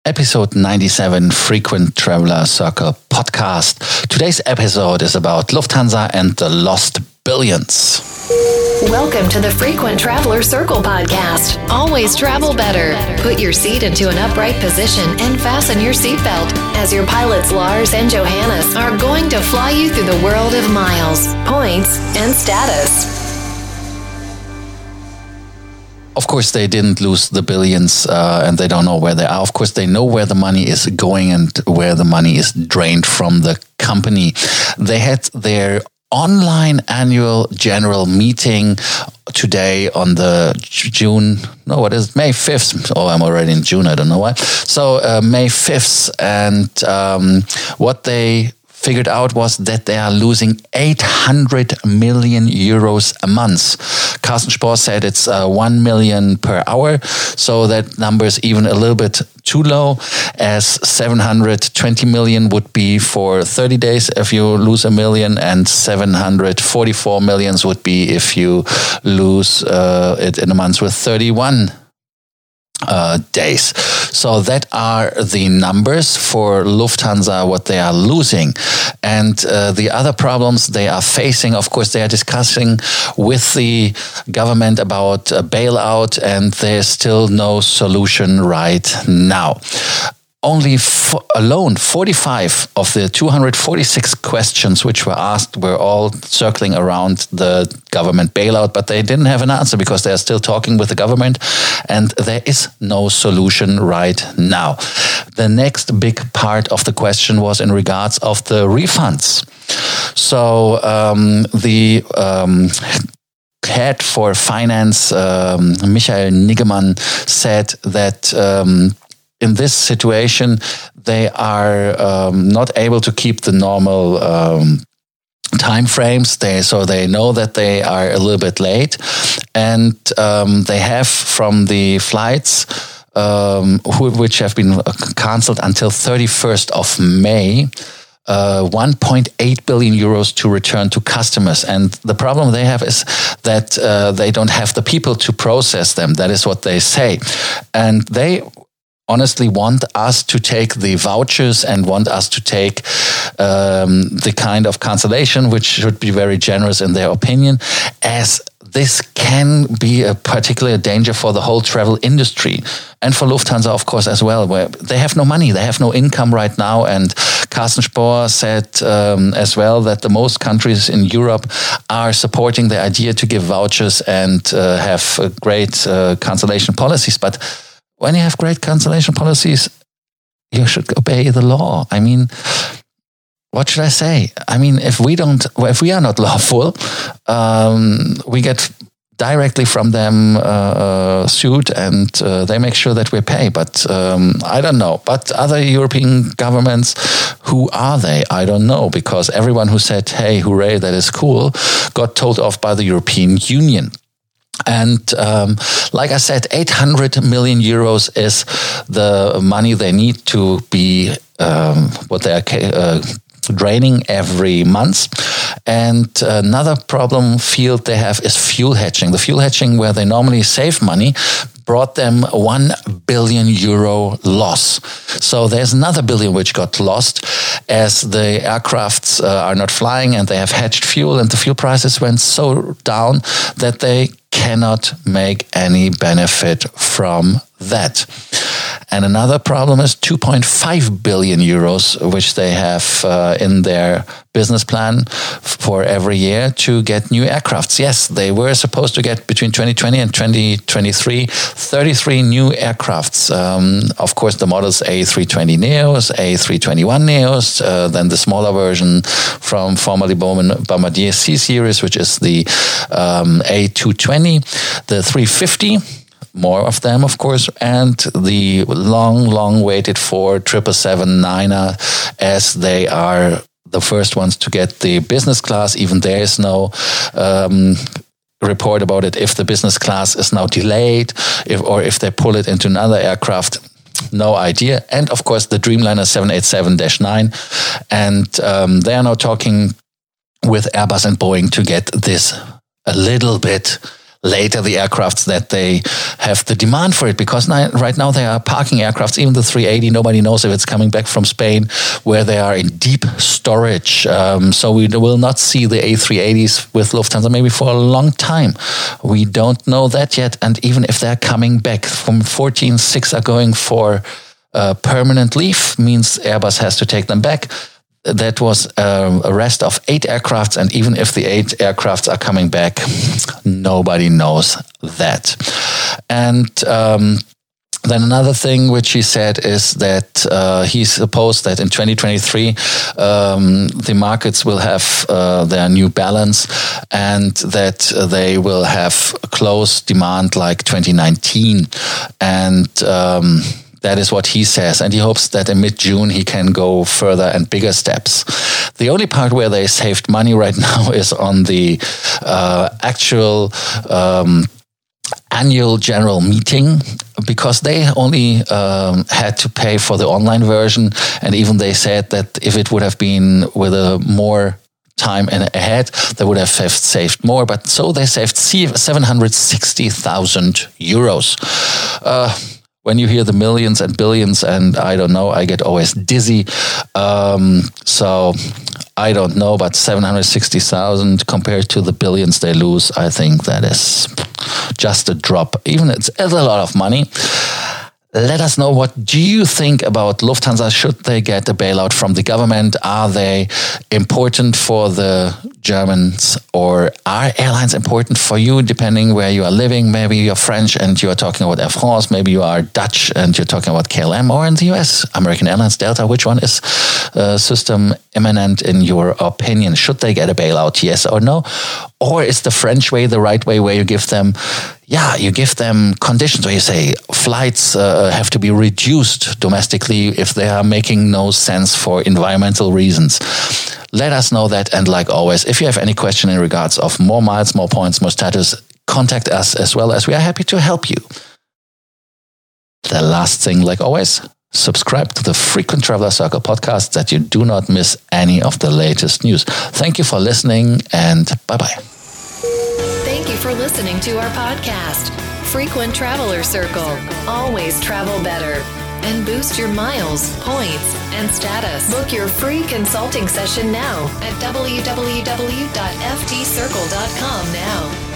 Episode 97, Frequent Traveler Circle podcast. Today's episode is about Lufthansa and the lost billions. Welcome to the Frequent Traveler Circle podcast. Always travel better. Put your seat into an upright position and fasten your seatbelt as your pilots Lars and Johannes are going to fly you through the world of miles, points, and status. Of course, they didn't lose the billions and they don't know where they are. Of course, they know where the money is going and where the money is drained from the company. They had their online annual general meeting today on the May 5th. Oh, I'm already in June. I don't know why. So May 5th. And what they figured out was that they are losing 800 million euros a month. Carsten Spohr said it's 1 million per hour. So that number is even a little bit too low, as 720 million would be for 30 days if you lose a million, and 744 millions would be if you lose it in a month with 31 days. So that are the numbers for Lufthansa, what they are losing. And the other problems they are facing, of course, they are discussing with the government about a bailout, and there's still no solution right now. Only 45 of the 246 questions which were asked were all circling around the government bailout, but they didn't have an answer because they are still talking with the government and there is no solution right now. The next big part of the question was in regards of the refunds. So the head for finance, Michael Niggemann, said that in this situation, they are not able to keep the normal time frames. So they know that they are a little bit late, and they have from the flights which have been cancelled until 31st of May. 1.8 billion euros to return to customers. And the problem they have is that they don't have the people to process them. That is what they say. And they honestly want us to take the vouchers and want us to take the kind of cancellation, which should be very generous in their opinion, as this can be a particular danger for the whole travel industry and for Lufthansa, of course, as well, where they have no money, they have no income right now. And Carsten Spohr said as well that the most countries in Europe are supporting the idea to give vouchers and have great cancellation policies. But when you have great cancellation policies, you should obey the law. I mean, what should I say? I mean, if we are not lawful, we get directly from them sued, and they make sure that we pay. But I don't know. But other European governments, who are they? I don't know, because everyone who said, "Hey, hooray, that is cool," got told off by the European Union. And like I said, 800 million euros is the money they need to be what they are draining every month. And another problem field they have is fuel hedging. The fuel hedging, where they normally save money, brought them 1 billion euro loss. So there's another billion which got lost as the aircrafts are not flying and they have hedged fuel, and the fuel prices went so down that they cannot make any benefit from that. And another problem is 2.5 billion euros, which they have in their business plan for every year to get new aircrafts. Yes, they were supposed to get between 2020 and 2023, 33 new aircrafts. Of course, the models A320neos, A321neos, then the smaller version from formerly Bombardier C-Series, which is the A220, the 350, more of them, of course, and the long waited for 777-9er, as they are the first ones to get the business class. Even there is no report about it. If the business class is now delayed, if they pull it into another aircraft, no idea. And of course, the Dreamliner 787-9, and they are now talking with Airbus and Boeing to get this a little bit later the aircrafts that they have the demand for it, because right now they are parking aircrafts, even the 380, nobody knows if it's coming back from Spain, where they are in deep storage. So we will not see the A380s with Lufthansa maybe for a long time. We don't know that yet. And even if they're coming back, from 14, 6 are going for permanent leave, means Airbus has to take them back. That was a rest of 8 aircrafts, and even if the 8 aircrafts are coming back, nobody knows that. And then another thing which he said is that he supposed that in 2023 the markets will have their new balance, and that they will have close demand like 2019. And that is what he says, and he hopes that in mid-June he can go further and bigger steps. The only part where they saved money right now is on the actual annual general meeting, because they only had to pay for the online version, and even they said that if it would have been with a more time ahead, they would have saved more. But so they saved 760,000 euros. When you hear the millions and billions, and I don't know, I get always dizzy. So I don't know, but 760,000 compared to the billions they lose, I think that is just a drop. Even it's a lot of money. Let us know, what do you think about Lufthansa? Should they get a bailout from the government? Are they important for the Germans, or are airlines important for you, depending where you are living? Maybe you're French and you are talking about Air France. Maybe you are Dutch and you're talking about KLM, or in the US, American Airlines, Delta. Which one is system imminent in your opinion? Should they get a bailout, yes or no? Or is the French way the right way, where you give them conditions where you say flights have to be reduced domestically if they are making no sense for environmental reasons? Let us know that. And like always, if you have any question in regards of more miles, more points, more status, contact us, as well as we are happy to help you. The last thing, like always, subscribe to the Frequent Traveler Circle podcast, that you do not miss any of the latest news. Thank you for listening, and bye-bye. Thank you for listening to our podcast, Frequent Traveler Circle. Always travel better and boost your miles, points, and status. Book your free consulting session now at www.ftcircle.com now.